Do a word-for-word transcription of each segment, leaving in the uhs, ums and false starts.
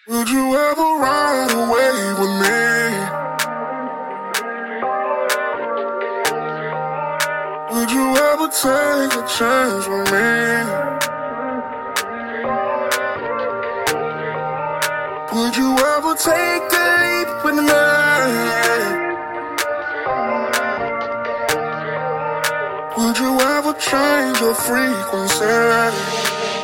Would you ever ride away with me? Would you ever take a chance with me? Would you ever take a leap with me? Would you ever change your frequency?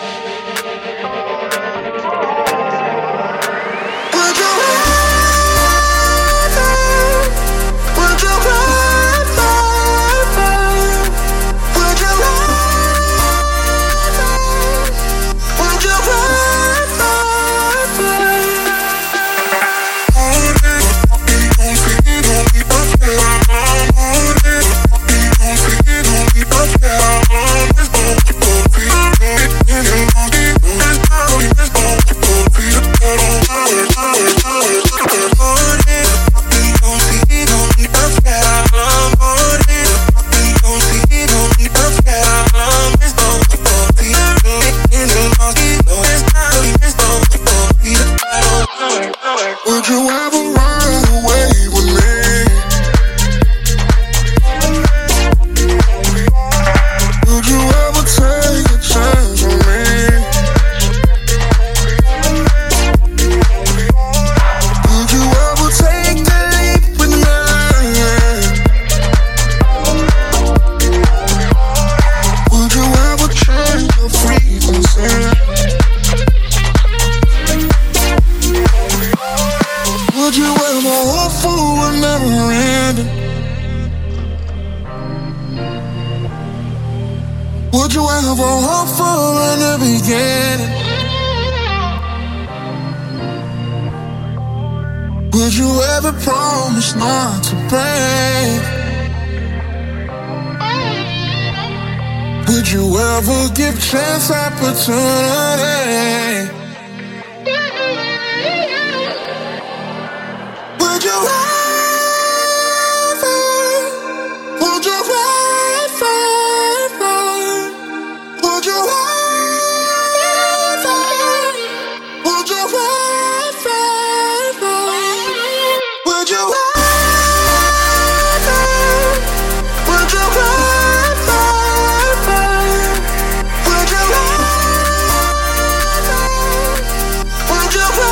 Would you ever ride away with me? Would you ever take a chance on me? Would you ever take a leap with me? Would you ever change your frequency? Would you ever hope for a never ending? Would you ever hope for a new beginning? Would you ever promise not to break? Would you ever give chance opportunity? Would you ever, would you ever, would you ever, would you ever, would you ever, would you ever, would you ever, would you ever?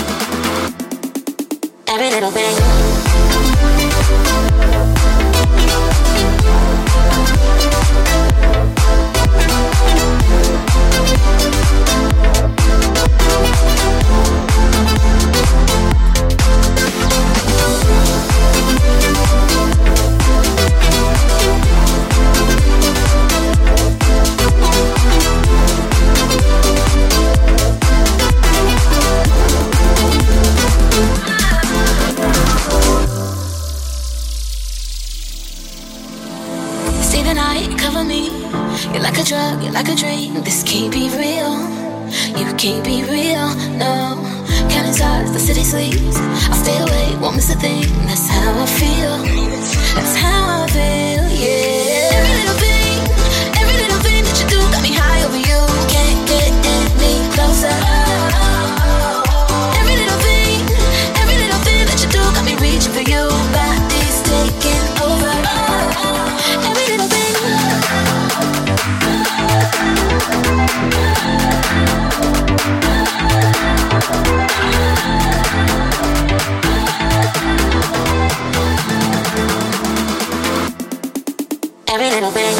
Every little thing. You're like a drug, you're like a dream. This can't be real. You can't be real, no. Counting stars, the city sleeps. I'll stay awake, won't miss a thing. That's how I feel. That's how I feel, yeah. Every little thing, every little thing that you do got me high over you. Can't get any closer. Every little thing, every little thing that you do got me reaching for you. Body's taking over. Every little thing. Every little thing.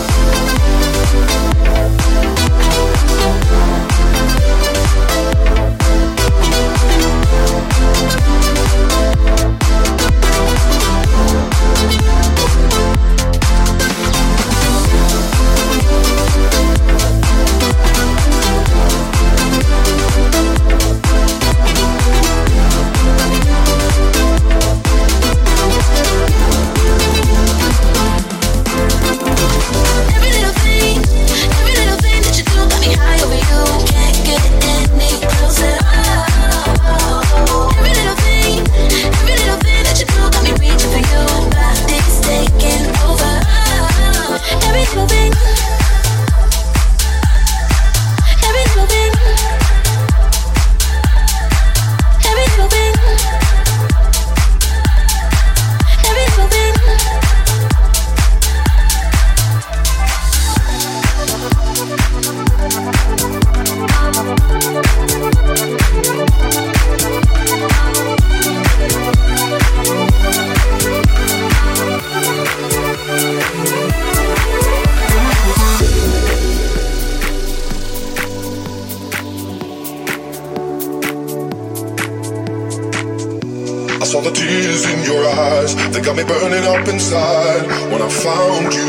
Saw the tears in your eyes, they got me burning up inside. When I found you,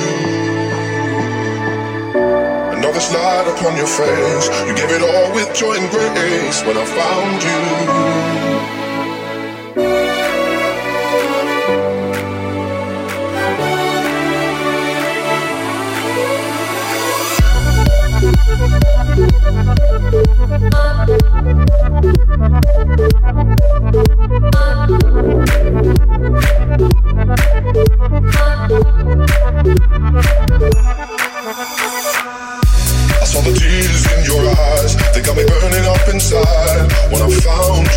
another slide upon your face. You gave it all with joy and grace. When I found you. I saw the tears in your eyes, they got me burning up inside. When I found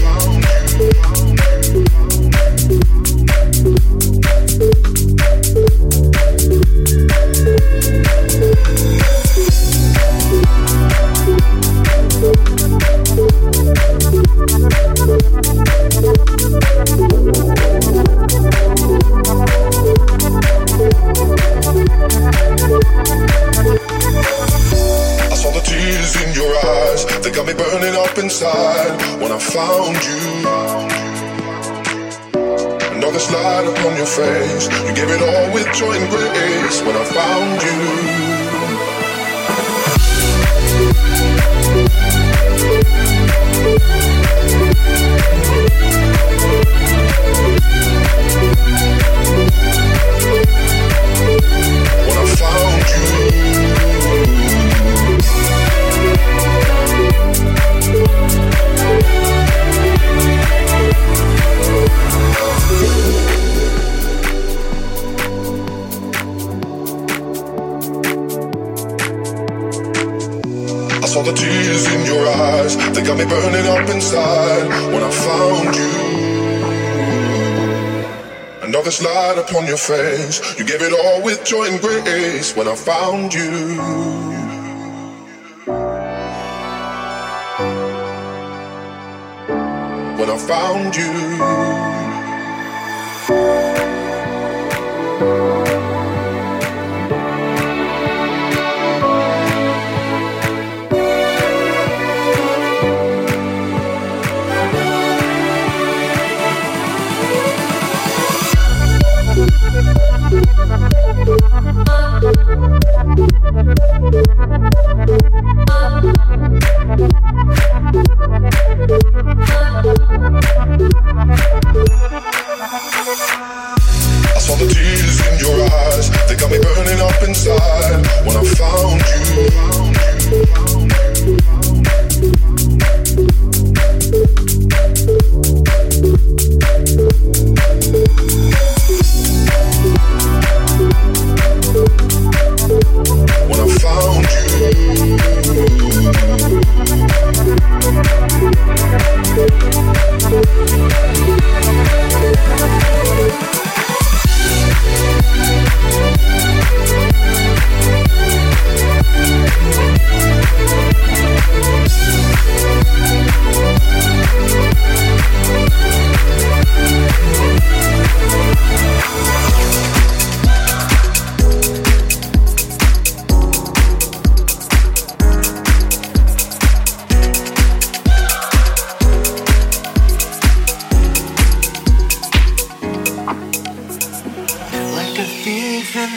inside. When I found you, another slide upon your face. You gave it all with joy and grace. When I found you. When I found you. I saw the tears in your eyes, they got me burning up inside. When I found you, another slide upon your face. You gave it all with joy and grace. When I found you. When I found you. We'll be right back.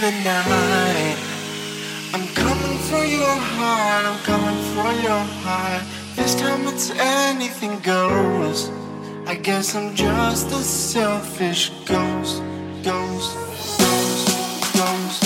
the night. I'm coming for your heart, I'm coming for your heart. This time it's anything goes. I guess I'm just a selfish ghost, ghost, ghost, ghost.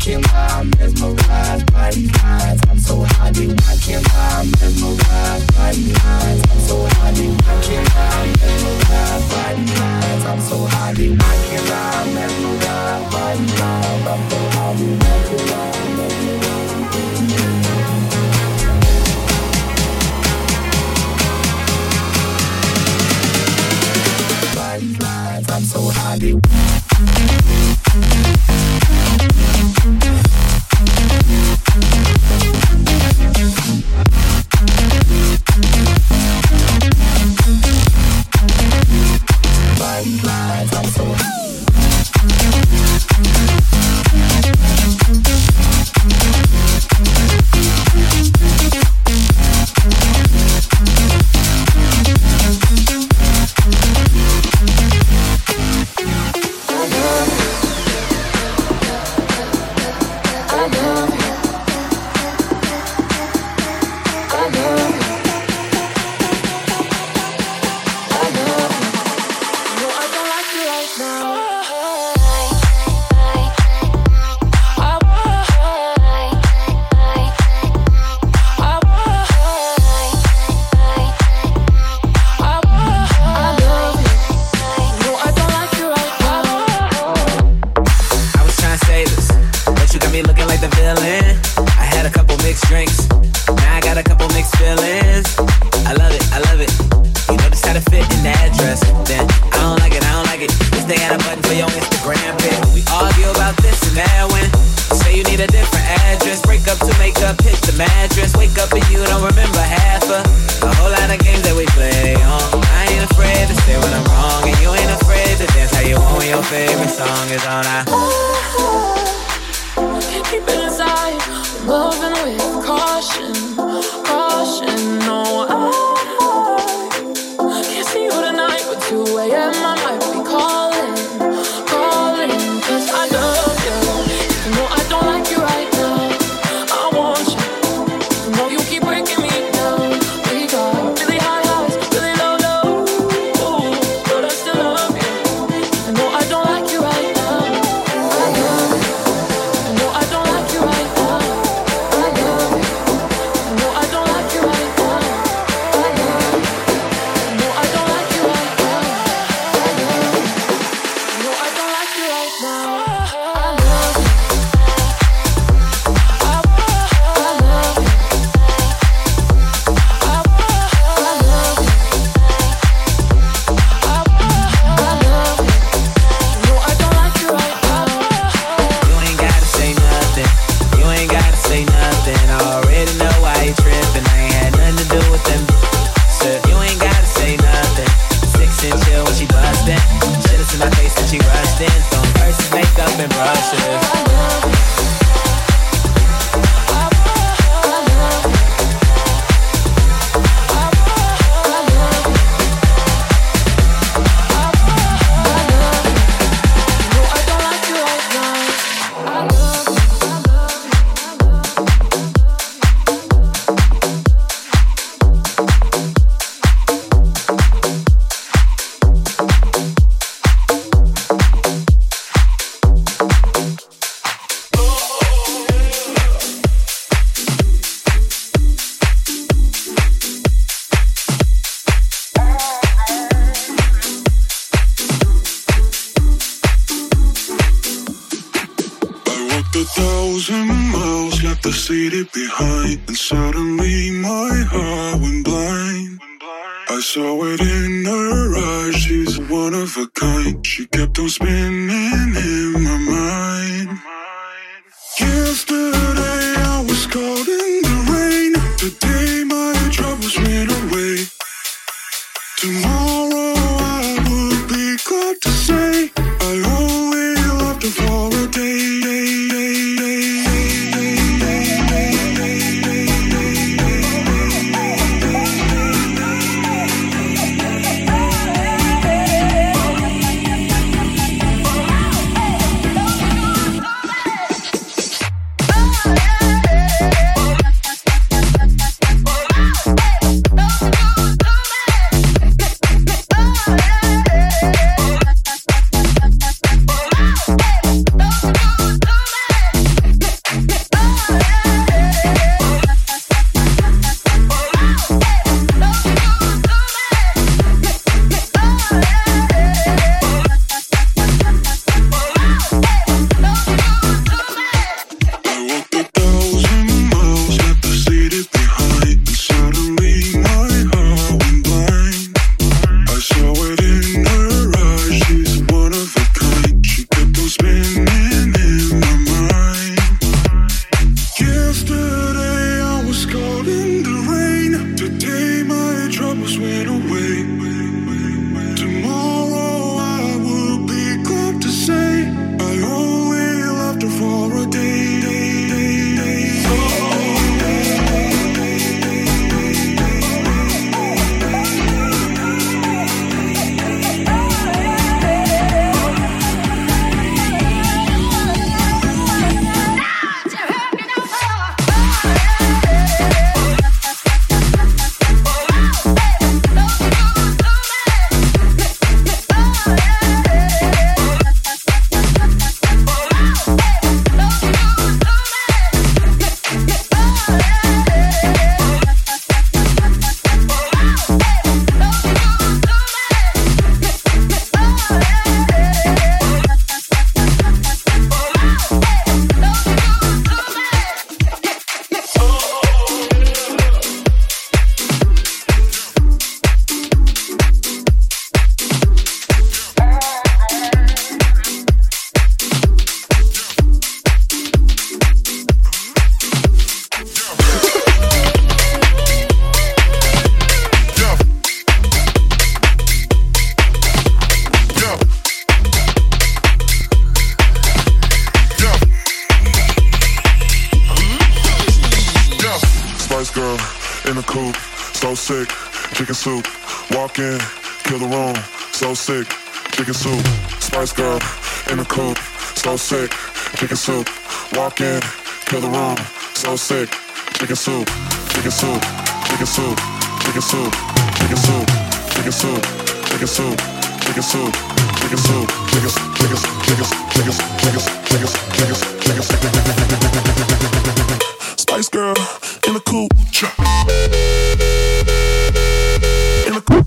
rocking while I'm mesmerized by these lines. I'm so high, they rocking while I'm mesmerized by these lines. I'm so high, they rocking while I'm mesmerized by these lines. I'm so high, they rocking while I'm mesmerized by these lines. I'm so high, they rocking while I'm mesmerized by these lines. I'm so high, they I'm so in the coupe, so sick, chicken soup. Walk in, kill the room, so sick, chicken soup. Spice Girl in the coupe, so sick, chicken soup. Walk in, kill the room, so sick, chicken soup, chicken soup, chicken soup, chicken soup, chicken soup, chicken soup, chicken soup, chicken soup, chicken soup, chicken chicken chicken chicken chicken chicken chicken chicken. Spice Girl in the coupe, in the coupe.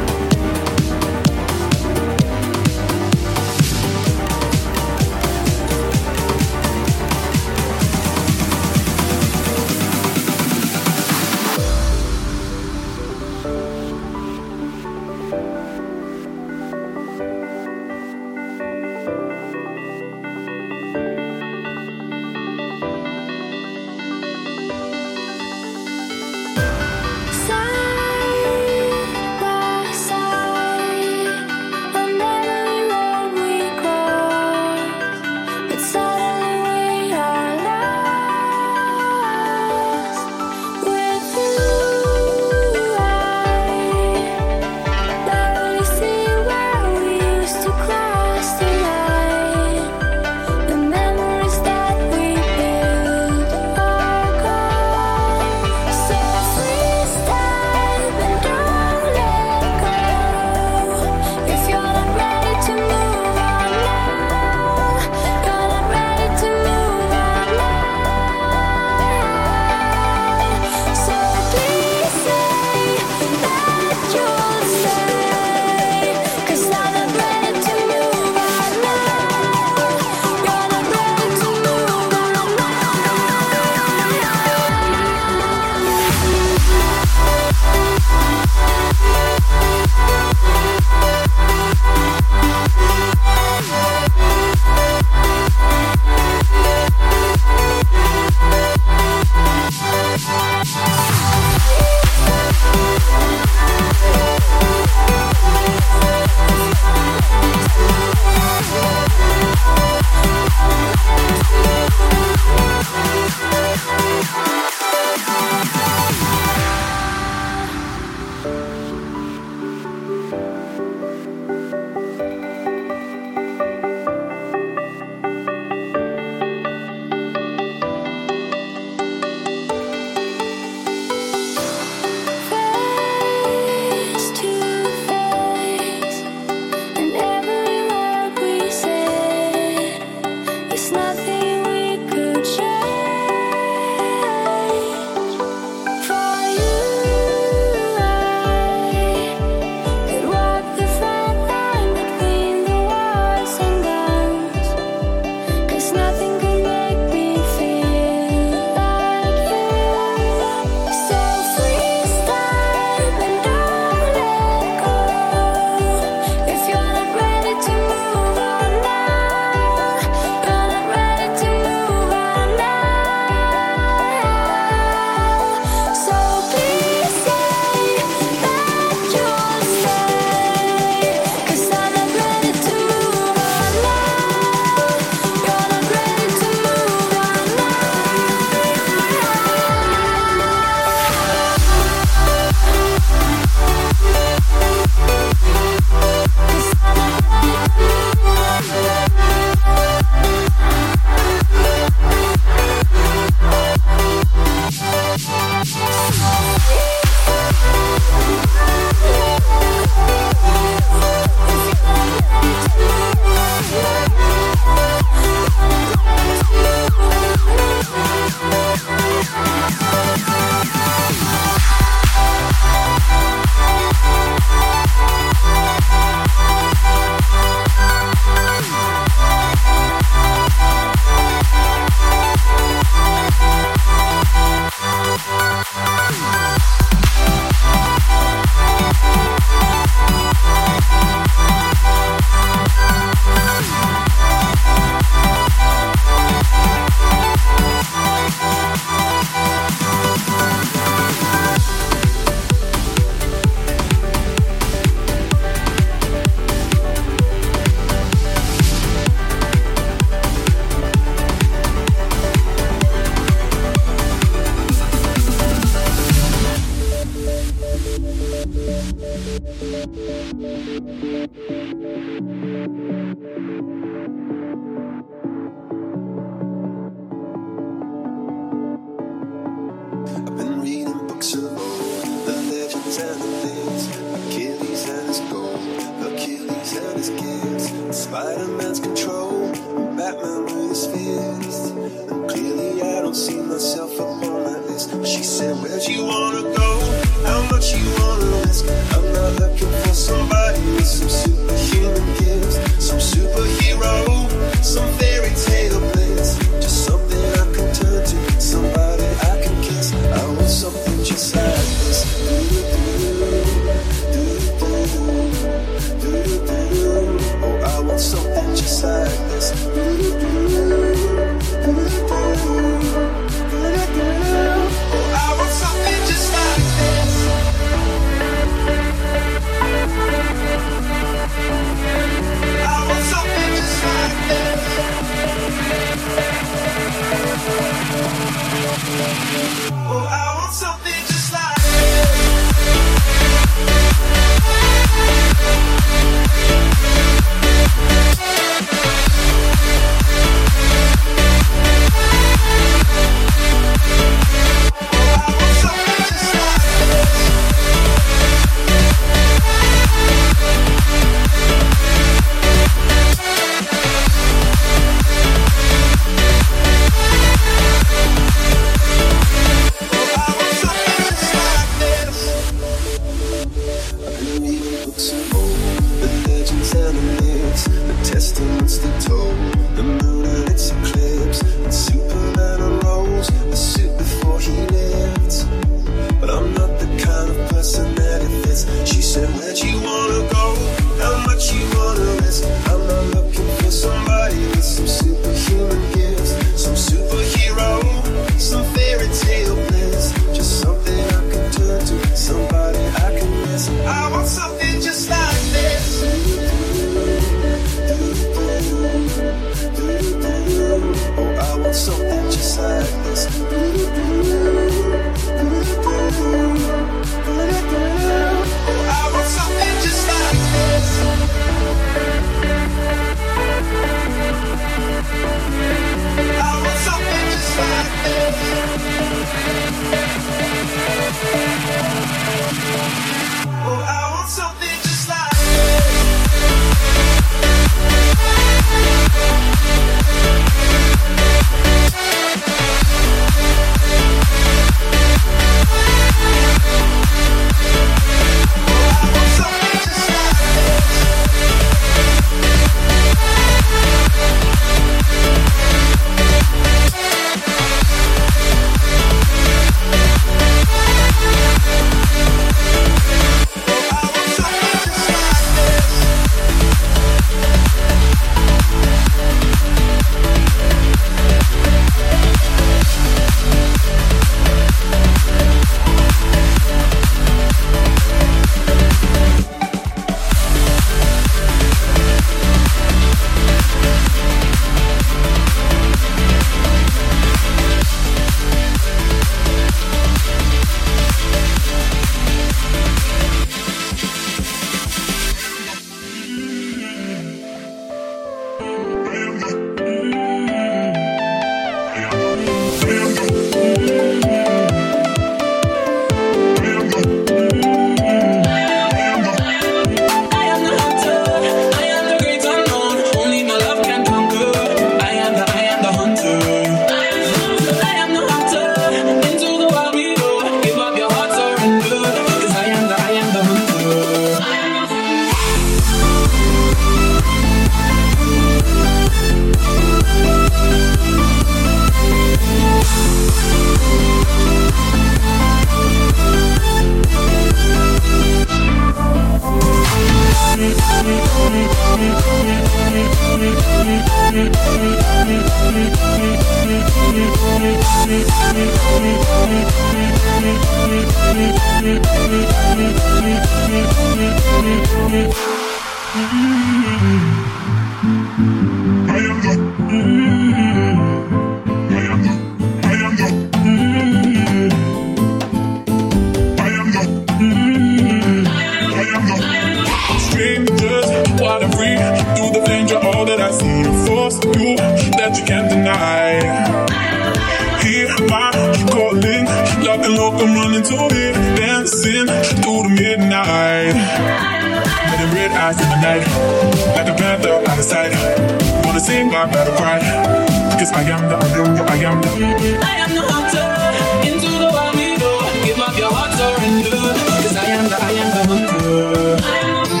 mind, keep calling, keep locked and locked, I'm running to it, dancing through the midnight. Letting red eyes in the night, like a panther out of sight. Wanna sing my battle cry, cause I am the, I am the, I am the I am the hunter, into the wild we go. Give up your heart, surrender, cause I am the, I am the hunter. I am the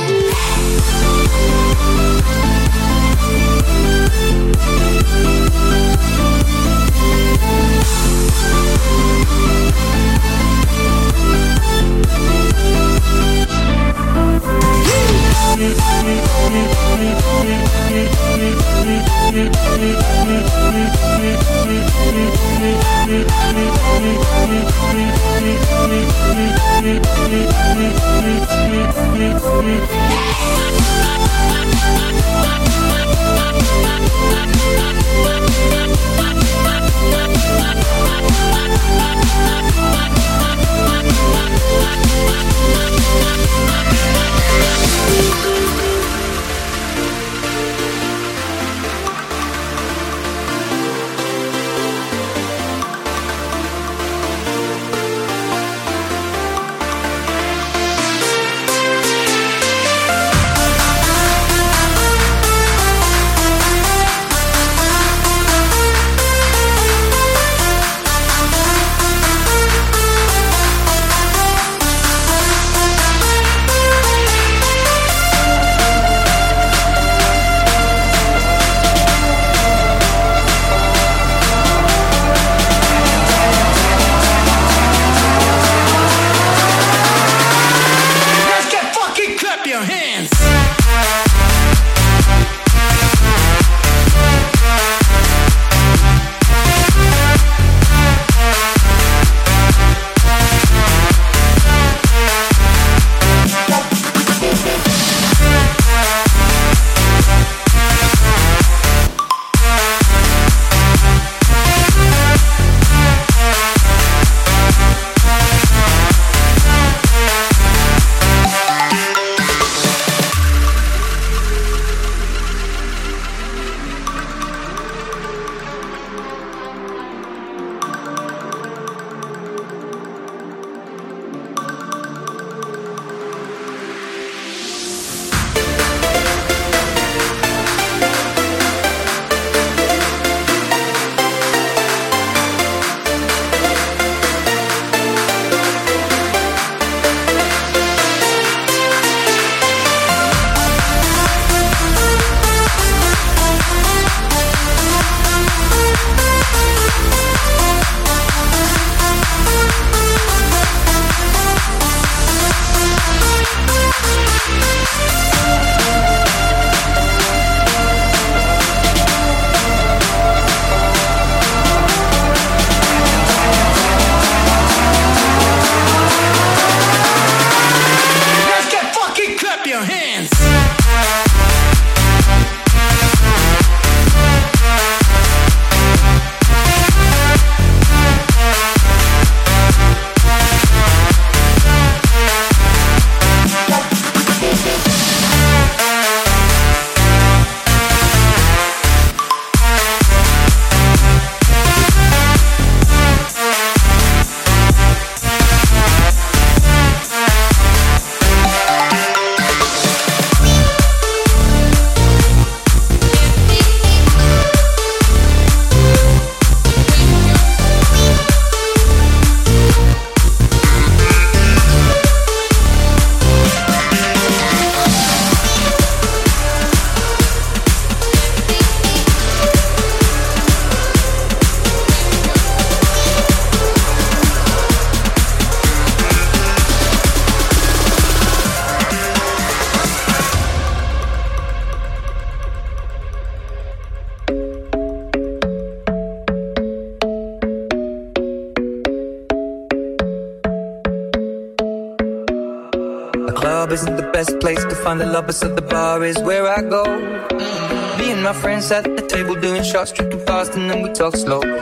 club isn't the best place to find the lovers, so the bar is where I go. Me and my friends at the table doing shots, drinking fast, and then we talk slow.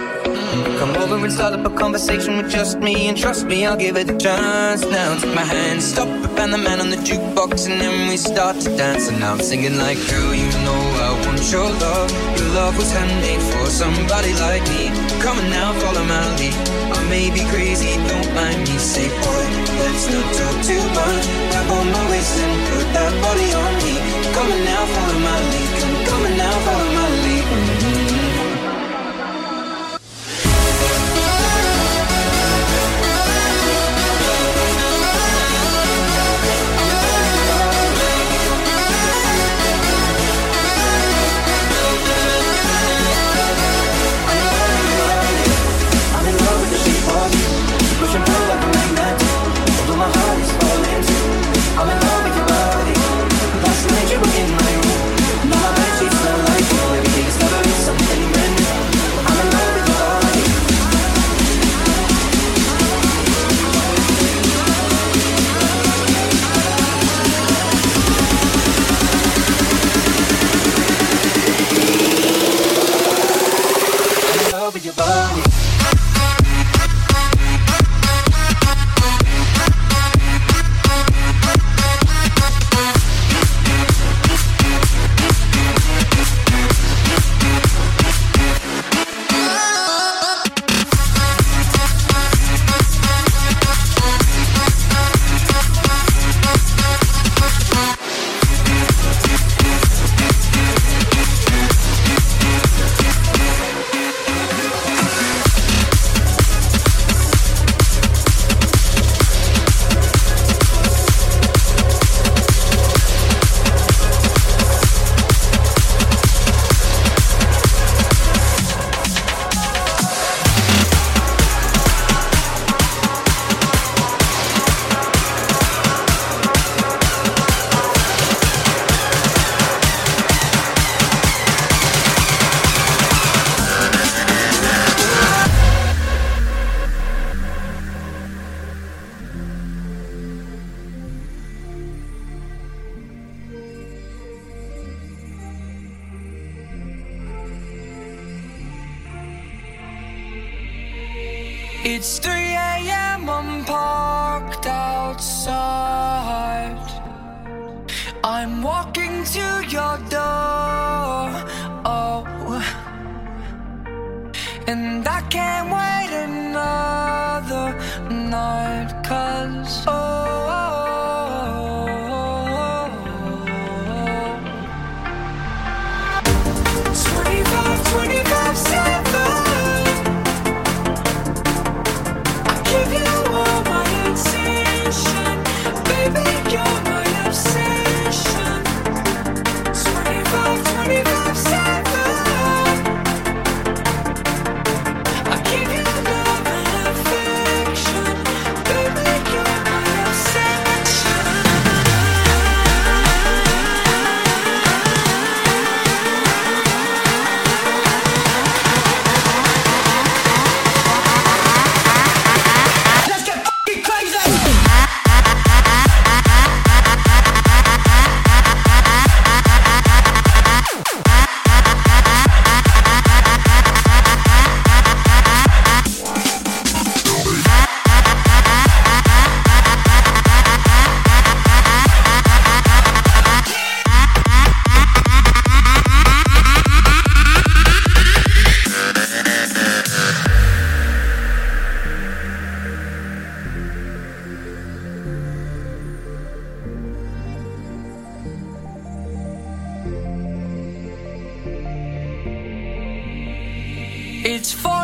Come over and start up a conversation with just me, and trust me, I'll give it a chance. Now take my hand, stop it, and the man on the jukebox, and then we start to dance. And now I'm singing like, girl, you know I want your love. Your love was handmade for somebody like me. Come on now, follow my lead. I may be crazy, don't mind me. Say, boy, let's not talk too much. Grab on my waist and put that body on me. Come on now, follow my lead. Come, come on now, follow my lead. Mm-hmm. It's three a.m. I'm parked outside. I'm walking to your door. Oh, and I can't wait another night. 'Cause oh, twenty-five, twenty-five, seven. Give you all my attention, baby, you're my obsession. Twenty-five, twenty-five, seven. I give you love and affection, baby, you're my obsession. Let's get fucking crazy. It's four